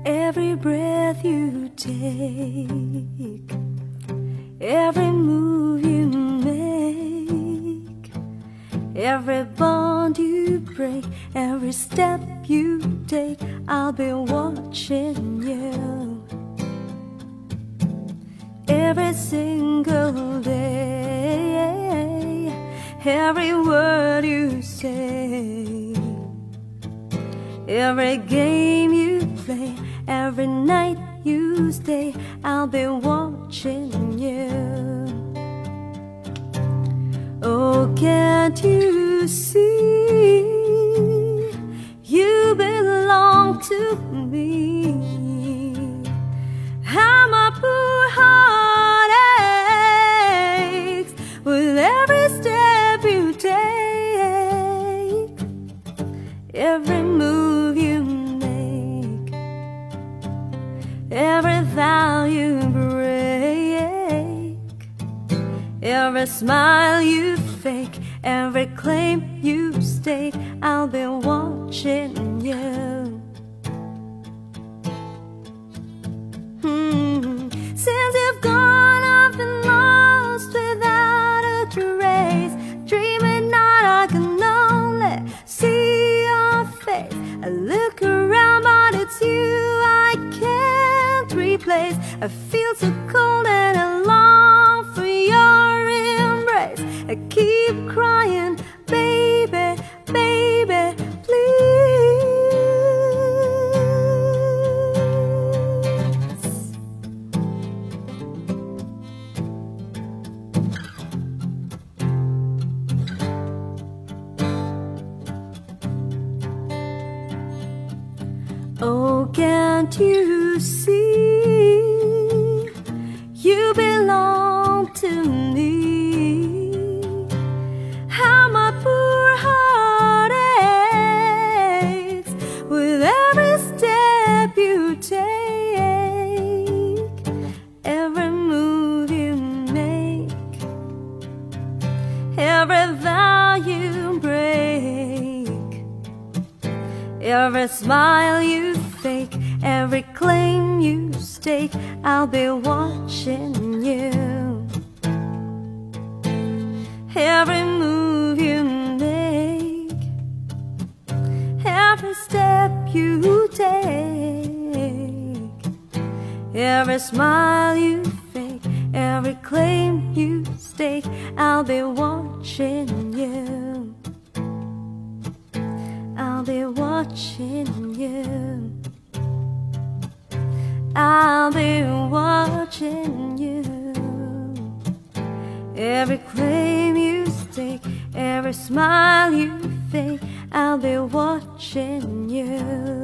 Every breath you take, every move you make, every bond you break, every step you take, I'll be watching you. Every single day, every word you say, every game you play, every night you stay, I'll be watching you. Oh, can't you see you belong to me? How my poor heart aches with every step you take, every move you make, every vow you break, every smile you fake, every claim you stake, I'll be watching you. Since you've gone, I've been lost without a trace. Dreaming night, I can only see your face. I look around, but it's you I can't replace. I feel so cold and I long for your embrace. I keep crying, baby, baby, please. Oh, can't you see you belong to me? How my poor heart aches with every step you take, every move you make, every vow you break, every smile you fake, every claim you stake, I'll be watching you. Every move you make, every step you take, every smile you fake, every claim you stake, I'll be watching you. I'll be watching you. I'll be watching you. Every claim you stake, every smile you fake, I'll be watching you.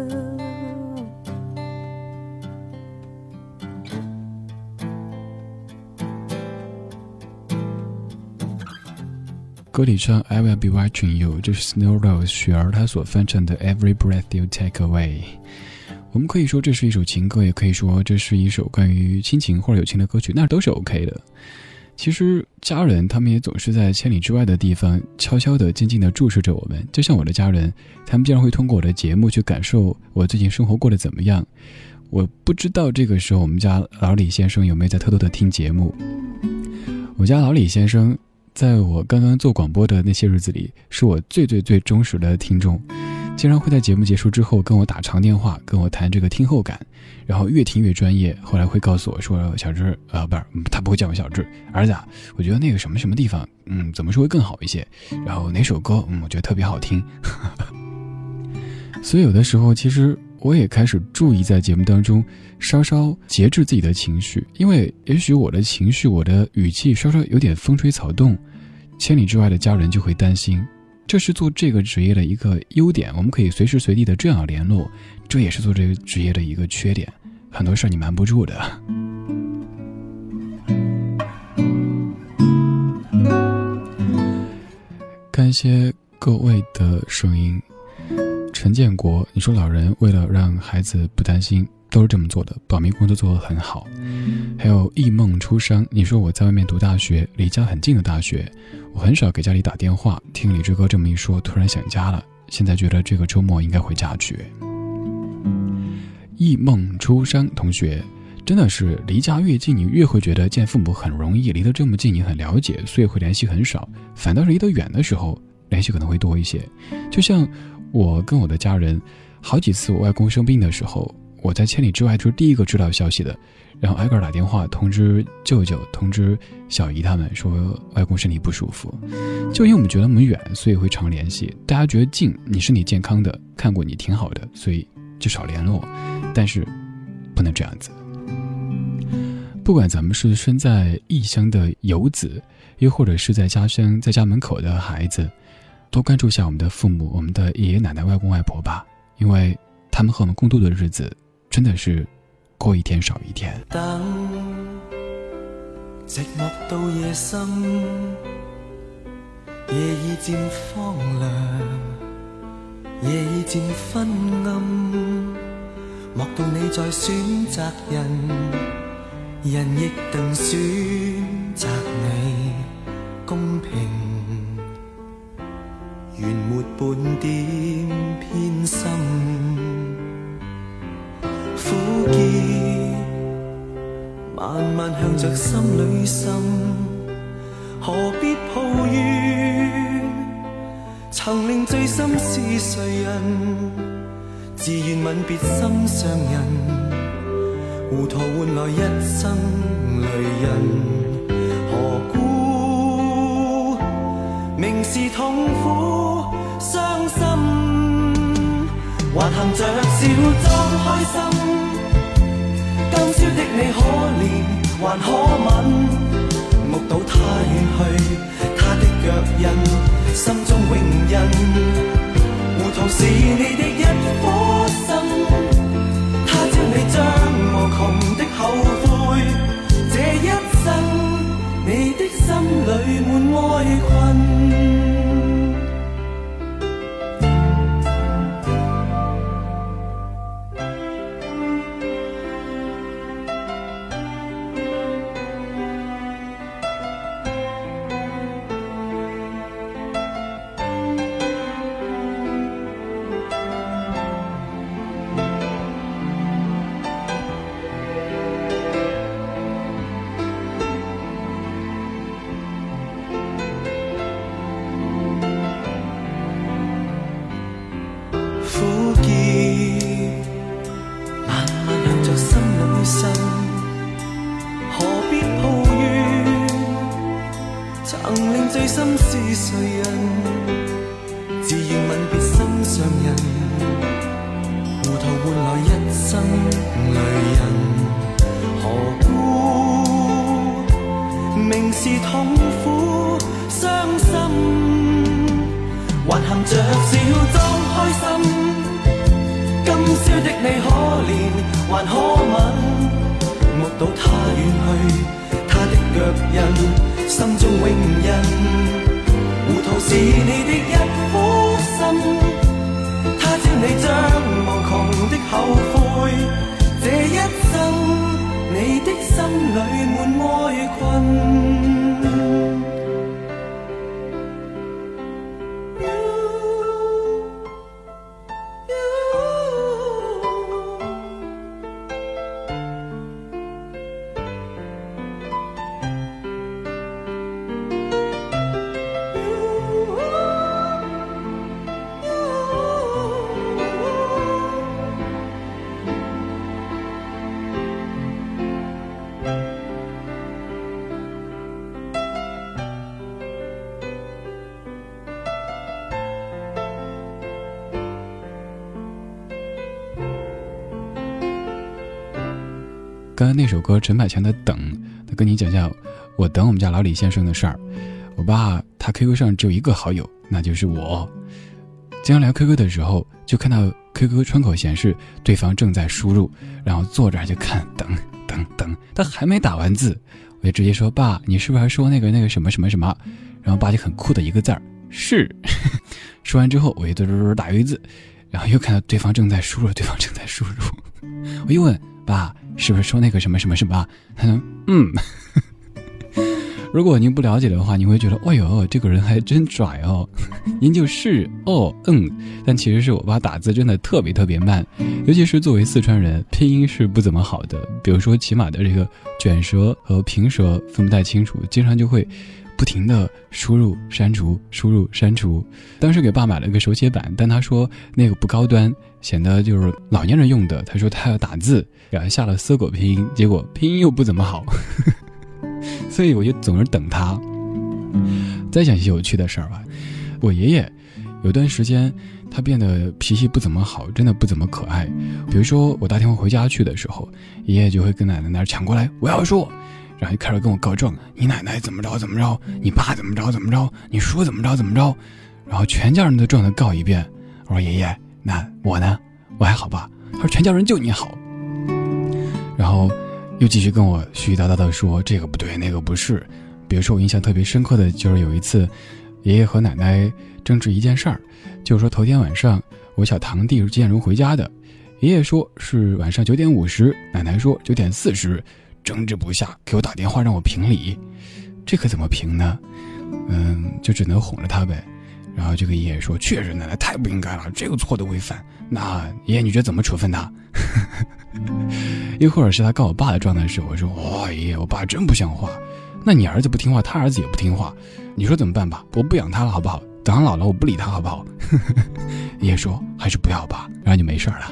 歌里唱 I will be watching you， 这是 Snow Rose 雪儿她所翻唱的 Every breath you take away。 我们可以说这是一首情歌，也可以说这是一首关于亲情或者友情的歌曲，那都是 OK 的。其实家人他们也总是在千里之外的地方悄悄地静静地注视着我们，就像我的家人，他们经常会通过我的节目去感受我最近生活过得怎么样。我不知道这个时候我们家老李先生有没有在偷偷地听节目。我家老李先生在我刚刚做广播的那些日子里，是我最忠实的听众，经常会在节目结束之后跟我打长电话，跟我谈这个听后感，然后越听越专业。后来会告诉我说，小志不是，他不会叫我小志，儿子啊，我觉得那个什么什么地方怎么说会更好一些，然后哪首歌我觉得特别好听。所以有的时候其实我也开始注意在节目当中稍稍节制自己的情绪，因为也许我的情绪我的语气稍稍有点风吹草动，千里之外的家人就会担心。这是做这个职业的一个优点，我们可以随时随地的这样联络，这也是做这个职业的一个缺点，很多事你瞒不住的。感谢各位的声音。陈建国，你说老人为了让孩子不担心都是这么做的，保密工作做得很好。还有忆梦初伤，你说我在外面读大学，离家很近的大学，我很少给家里打电话，听李志哥这么一说，突然想家了，现在觉得这个周末应该回家去。 忆梦初山同学，真的是离家越近，你越会觉得见父母很容易，离得这么近你很了解，所以会联系很少，反倒是离得远的时候联系可能会多一些。就像我跟我的家人，好几次我外公生病的时候，我在千里之外就是第一个知道消息的，然后挨个打电话通知舅舅通知小姨他们说外公身体不舒服。就因为我们觉得我们远，所以会常联系，大家觉得近，你身体健康的，看过你挺好的，所以就少联络。但是不能这样子，不管咱们是身在异乡的游子，又或者是在家乡在家门口的孩子，多关注一下我们的父母，我们的爷爷奶奶外公外婆吧，因为他们和我们共度的日子真的是过一天少一天。 等寂寞到夜深，夜已漸荒涼，夜已漸昏暗，莫道你在選擇人，人亦定選擇你公平，原沒半點偏心，苦澀慢慢向着心裏滲，何必抱怨？曾令醉心是誰人？自願吻別心上人，糊塗換來一生淚印。何故明是痛苦傷心，還含着笑裝開心？今宵的你可憐還可吻，目睹他遠去，他的腳印，心中永印。糊塗是你的一顆心，他朝你將無窮的後悔，這一生你的心裏滿哀困。 刚刚那首歌陈百强的等，他跟你讲讲我等我们家老李先生的事儿。我爸他 QQ 上只有一个好友，那就是我。经常聊 QQ 的时候，就看到 QQ 窗口显示对方正在输入，然后坐这儿就看等，他还没打完字，我就直接说爸，你是不是还说那个什么什么什么？然后爸就很酷的一个字儿是。说完之后，我就打一个字，然后又看到对方正在输入，我又问爸，是不是说那个什么什么什么？他说如果您不了解的话，你会觉得哎呦这个人还真拽哦，您就是但其实是我爸打字真的特别慢，尤其是作为四川人，拼音是不怎么好的，比如说起码的这个卷舌和平舌分不太清楚，经常就会不停的输入删除输入删除。当时给爸买了个手写板，但他说那个不高端，显得就是老年人用的，他说他要打字，然后下了搜狗拼音，结果拼音又不怎么好所以我就总是等他。再讲一些有趣的事儿吧，我爷爷有段时间他变得脾气不怎么好，真的不怎么可爱。比如说我打电话回家去的时候，爷爷就会跟奶奶那儿抢过来，我要说，然后就开始跟我告状，你奶奶怎么着怎么着，你爸怎么着怎么着，你叔怎么着怎么着，然后全家人都状的告一遍。我说爷爷，那我呢？我还好吧？他说全家人就你好。然后又继续跟我絮絮叨叨的说这个不对那个不是。比如说我印象特别深刻的就是有一次爷爷和奶奶争执一件事儿，就是说头天晚上我小堂弟是几点钟回家的，爷爷说是晚上9点50，奶奶说9点40，争执不下给我打电话让我评理。这可怎么评呢？就只能哄着他呗。然后就跟爷爷说，确实奶奶太不应该了，这个错的违反，那爷爷你觉得怎么处分他？一会儿是他告我爸的状态时，我说爷爷我爸真不像话，那你儿子不听话，他儿子也不听话，你说怎么办吧？我不养他了好不好？等他老了我不理他好不好？爷爷说还是不要吧，然后就没事了。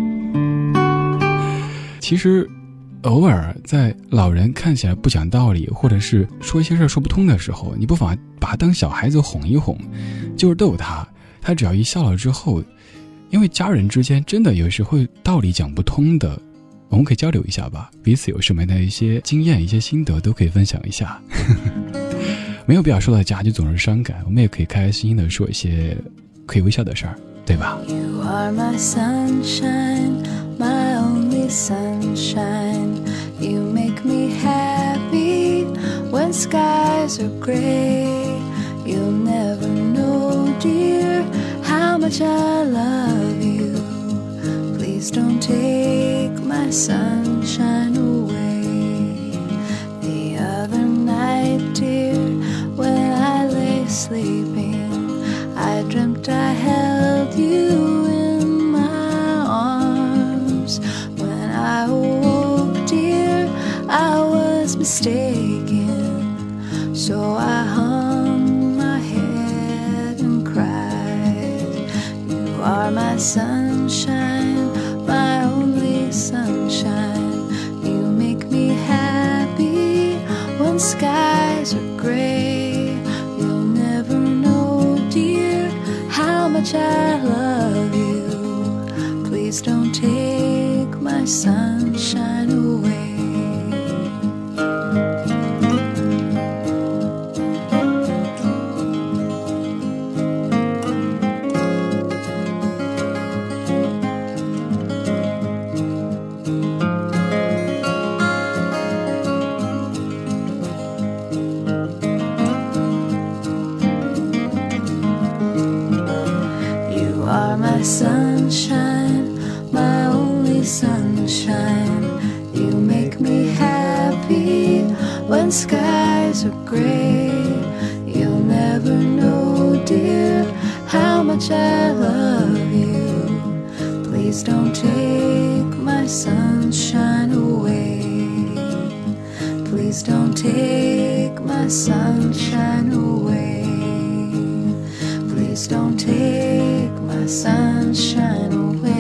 其实偶尔在老人看起来不讲道理，或者是说一些事说不通的时候，你不妨把他当小孩子哄一哄，就是逗他，他只要一笑了之后，因为家人之间真的有时候道理讲不通的，我们可以交流一下吧，彼此有什么样的一些经验一些心得都可以分享一下。没有必要说到家就总是伤感，我们也可以开开心心的说一些可以微笑的事儿，对吧？ You are my sunshine, my only sunshine. You make me happy when skies are gray. You'll never know, dear, how much I love you. Please don't take my sunshine away. The other night, dear, when I lay sleeping, I dreamt I held you in my arms. When I awoke, dear, I was mistaken. So I hung my head and cried. You are my sunshine, my only sunshine. You make me happy when skies are gray. You'll never know, dear, how much I love you. Please don't take my sunshine away. My sunshine, my only sunshine. You make me happy when skies are gray. You'll never know, dear, how much I love you. Please don't take my sunshine away. Please don't take my sunshine away. Please don't take my sunshine away.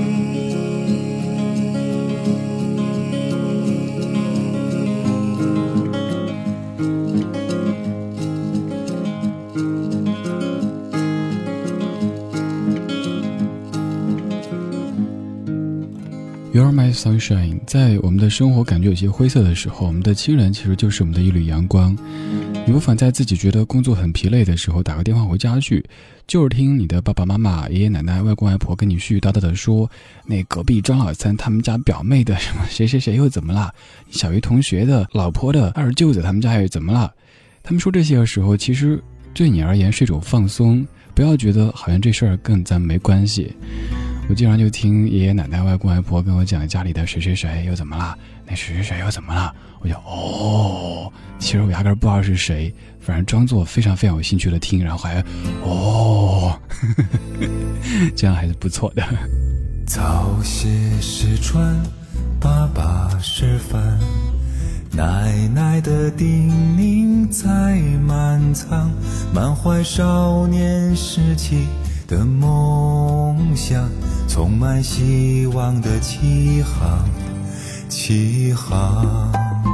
You are my sunshine， 在我们的生活感觉有些灰色的时候，我们的亲人其实就是我们的一缕阳光。你不妨在自己觉得工作很疲累的时候，打个电话回家去，就是听你的爸爸妈妈、爷爷奶奶、外公外婆跟你絮絮叨叨的说，那隔壁张老三他们家表妹的什么谁谁谁又怎么了，小鱼同学的老婆的二舅子他们家又怎么了。他们说这些的时候，其实对你而言是一种放松，不要觉得好像这事儿跟咱没关系。 我经常就听爷爷奶奶、外公外婆跟我讲家里的谁谁谁又怎么了，那谁谁谁又怎么了，我就哦，其实我压根不知道是谁，反正装作非常非常有兴趣的听，然后还哦这样还是不错的。 早些时传，爸爸示范，奶奶的叮咛在满仓，满怀少年时期的梦想，充满希望的起航，起航。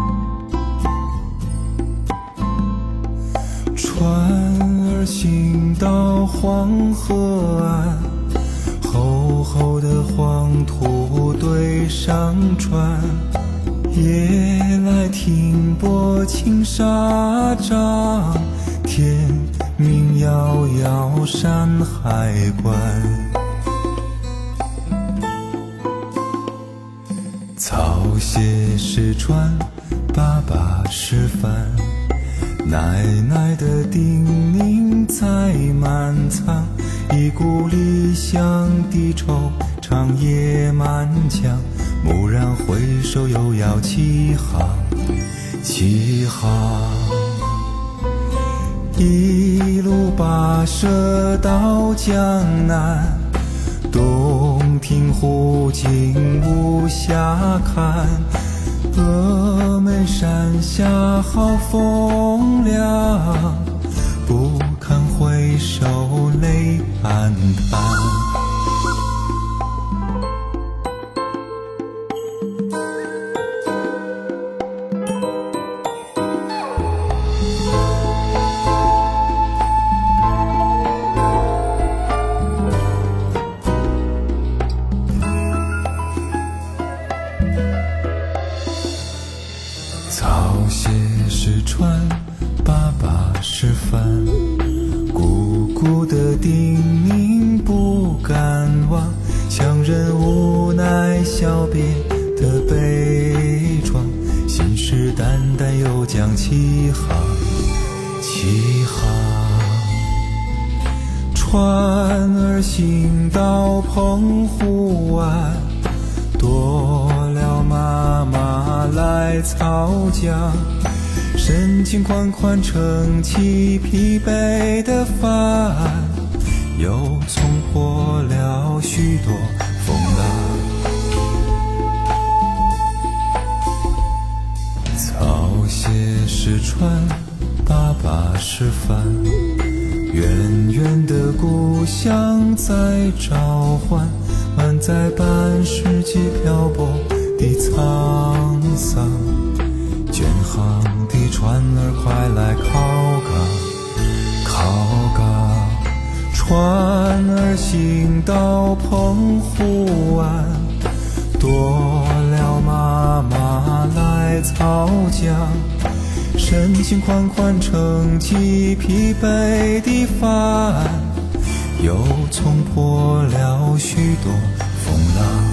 船儿行到黄河岸，厚厚的黄土堆上船，夜来停泊青纱帐，天明遥遥山海关。早些时传，爸爸示范，奶奶的叮咛在满仓，一股理想的惆怅也满腔，蓦然回首又要起航，起航。一路跋涉到江南，洞庭湖景无暇看，峨眉山下好风凉，不堪回首泪暗淡。早些时传，爸爸示范，姑姑的叮咛不敢忘，强忍无奈小别的悲怆，信誓旦旦又将起航，起航。船儿行到澎湖湾，多了妈妈来操浆，深情款款撑起疲惫的帆，又冲破了许多风浪。早些时传，爸爸示范，远远的故乡在召唤，满载半世纪漂泊的沧桑，远航的船儿快来靠港，靠港。船儿行到澎湖湾，多了妈妈来操浆，深情款款撑起疲惫的帆，又冲破了许多风浪。